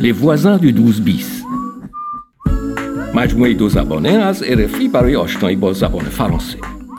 Les voisins du 12 bis. مجموعه دو زبانه از RFI برای آشنایی با زبان فرانسه.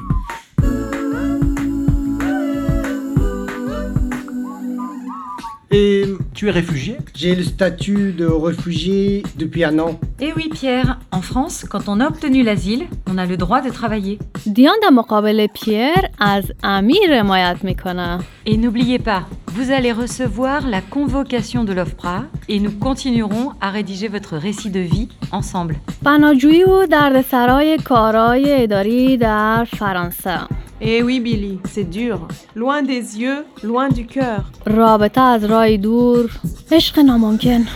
Et tu es réfugié ? J'ai le statut de réfugié depuis un an. Eh oui Pierre, en France, quand on a obtenu l'asile, on a le droit de travailler. دیان در مقابل پیر از امیر حمایت میکنه. Et n'oubliez pas, vous allez recevoir la convocation de l'OFPRA et nous continuerons à rédiger votre récit de vie ensemble. پناهجویی و دردسرای کارهای اداری در فرانسه. Eh oui, Billy, c'est dur. Loin des yeux, loin du cœur. رابطه از راه دور، عشق ناممکن.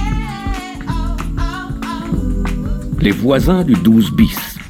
Les voisins du 12 bis.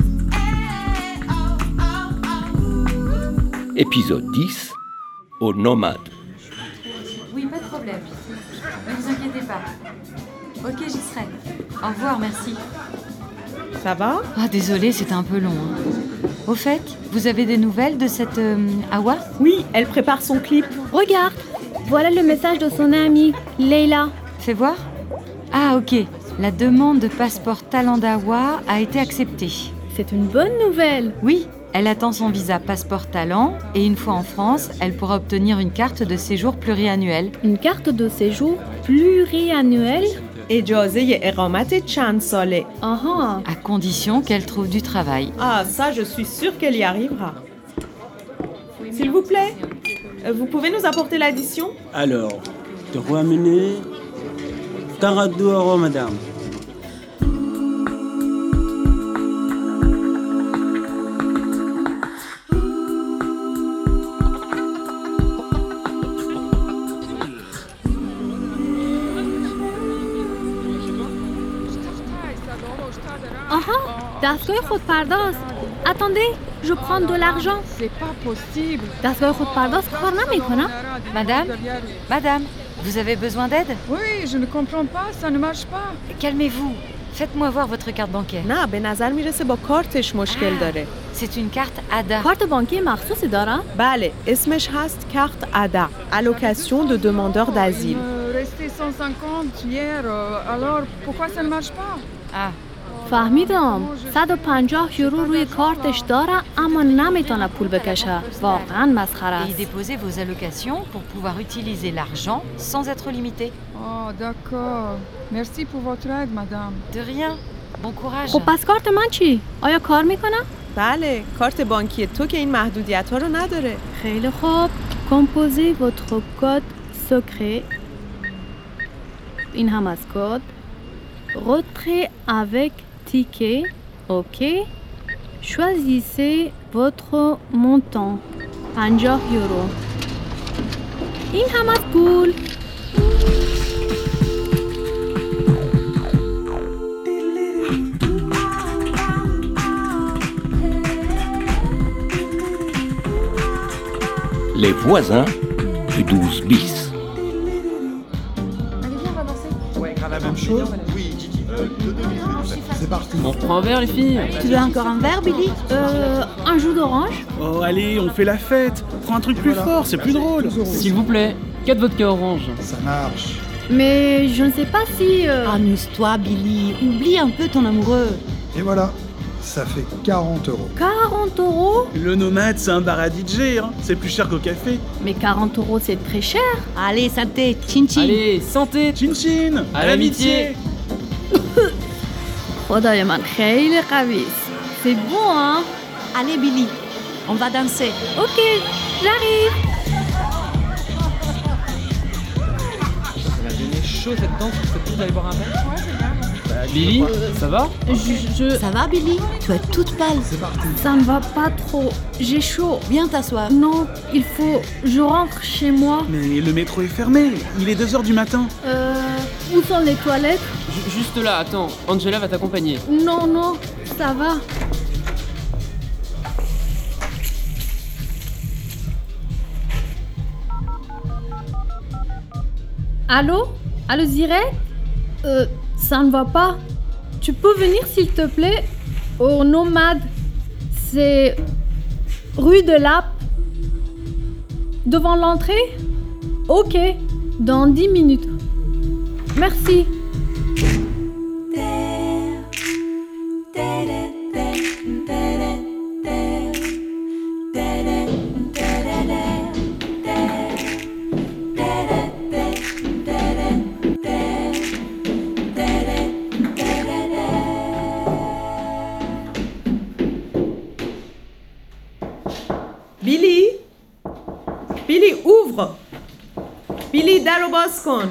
Épisode 10. Aux nomades. Oui, pas de problème. Ne vous inquiétez pas. Ok, j'y serai. Au revoir, merci. Ça va ? Ah, désolée, c'était un peu long. Au fait, vous avez des nouvelles de cette Awa ? Oui, elle prépare son clip. Regarde, voilà le message de son amie, Leila. Fais voir. Ah, ok. La demande de passeport talent d'Awa a été acceptée. C'est une bonne nouvelle. Oui, elle attend son visa passeport talent et une fois en France, elle pourra obtenir une carte de séjour pluriannuelle. Une carte de séjour pluriannuelle. اجازه اقامت چند ساله. Aha. À condition qu'elle trouve du travail. Ah, ça, je suis sûre qu'elle y arrivera. S'il vous plaît, vous pouvez nous apporter l'addition ? Alors, te ramener $42, madame. Aha, دستگاه خودپرداز. Attendez, je prends de l'argent. C'est pas possible. دستگاه خودپرداز کار نمیکنه. Madame, vous avez besoin d'aide ? Oui, je ne comprends pas, ça ne marche pas. Calmez-vous. Faites-moi voir votre carte bancaire. نه، به نظر میرسه با کارتش مشکل داره. C'est une carte ADA. کارت بانکی مخصوصی دارم؟ بله، اسمش هست کارت ADA. Allocation de demandeur d'asile. Resté 150 hier, alors pourquoi ça ne marche pas ? Ah, فهمیدم. 150 یورو روی کارتش داره اما نمیتونه پول بکشه. واقعا مسخره et y است. déposez vos allocations pour pouvoir utiliser l'argent sans être limité. Oh, d'accord. Merci pour votre aide, madame. De rien. Bon courage. خب پس کارت من چی؟ آیا کار میکنه؟ بله، کارت بانکی تو که این محدودیت‌ها رو نداره. خیلی خوب. Composez votre code secret. این هم از کد. Retrait avec ticket. OK. Choisissez votre montant. 50 یورو. این هم از پول. Les voisins du 12 bis. On reprend un verre, les filles ? Tu veux encore un verre, Billy? Un jus d'orange? Oh, allez, on fait la fête. Prends un truc plus fort, c'est plus drôle. S'il vous plaît, 4 vodka orange. Ça marche. Mais je ne sais pas si... Amuse-toi, Billy. Oublie un peu ton amoureux. Et voilà, ça fait 40 euros. 40 euros? Le nomade, c'est un bar à DJ, hein. C'est plus cher qu'au café. Mais 40 euros, c'est très cher. Allez, santé, chin-chin. Allez, santé. Chin-chin. À l'amitié. خدای من خیلی قوی است. C'est bon, hein? Allez, Billy, on va danser. Ok, j'arrive. Ça m'a donné chaud cette danse, je peux plus d'aller boire un verre. Billy, ça va ? Ça va, Billy ? Tu es toute pâle. C'est parti. Ça ne va pas trop. J'ai chaud. Viens t'asseoir. Non, il faut... Je rentre chez moi. Mais le métro est fermé. Il est 2h du matin. Où sont les toilettes? Juste là, attends, Angela va t'accompagner. Non, non, ça va. Allô? Allô, Zirek? Ça ne va pas. Tu peux venir, s'il te plaît, au Nomade. C'est rue de Lappe. Devant l'entrée? Ok, dans 10 minutes. Merci. بیلی در رو باز کن.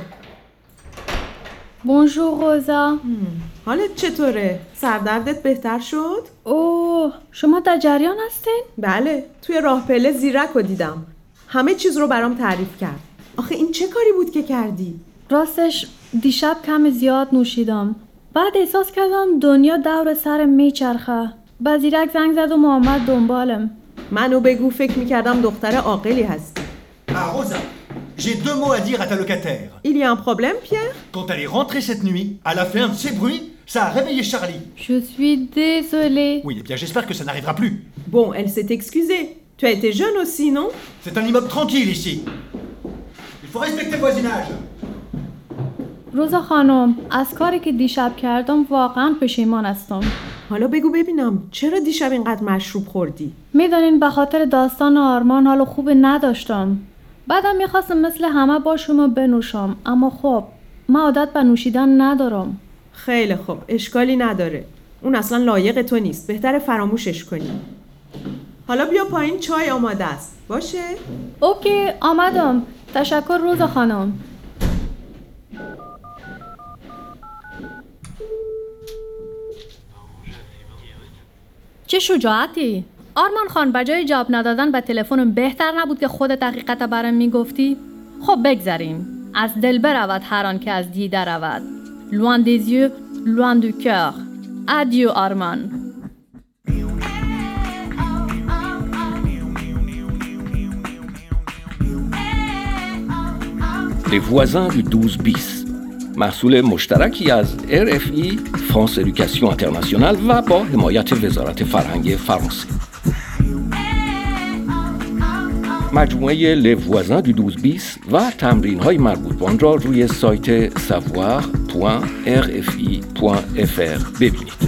بونژور روزا. حالت چطوره؟ سردردت بهتر شد؟ اوه، شما در جریان هستین؟ بله، توی راه پله زیرک رو دیدم. همه چیز رو برام تعریف کرد. آخه این چه کاری بود که کردی؟ راستش دیشب کم زیاد نوشیدم. بعد احساس کردم دنیا دور سر میچرخه. با زیرک زنگ زد و محمد دنبالم. منو بگو، فکر میکردم دختر عاقلی هستی. Rosa, j'ai 2 mots à dire à ta locataire. Il y a un problème, Pierre? Quand elle est rentrée cette nuit, elle a fait un de ces bruits, ça a réveillé Charlie. Je suis désolée. Oui, eh bien j'espère que ça n'arrivera plus. Bon, elle s'est excusée. Tu as été jeune aussi, non? C'est un immeuble tranquille ici. Il faut respecter le voisinage. روزا خانم، از کاری که دیشب کردم واقعا پشیمان هستم. حالا بگو ببینم چرا دیشب اینقدر مشروب خوردی؟ میدونین به خاطر داستان آرمان حال خوب نداشتم. بعدم میخواستم مثل همه با شما بنوشم، اما خب من عادت به نوشیدن ندارم. خیلی خوب، اشکالی نداره. اون اصلا لایق تو نیست. بهتره فراموشش کنی. حالا بیا پایین، چای آماده است. باشه؟ اوکی، آمدم. تشکر روزا خانم. چه شجاعتی! آرمان خان، بجای جواب ندادن به تلفنم بهتر نبود که خودت حقیقت برام میگفتی؟ خب بگذریم. از دل برود هر آن که از دیده رود. Loin des yeux, loin du cœur. Adieu Arman. Les voisins du 12 bis. محصول مشترکی از RFI فرانس ادوکاسیون اینترنشنال و با حمایت وزارت فرهنگ فرانسه. مجموعه Les voisins du 12 bis و تمرین‌های مربوط به آن را روی سایت savoir.rfi.fr ببینید.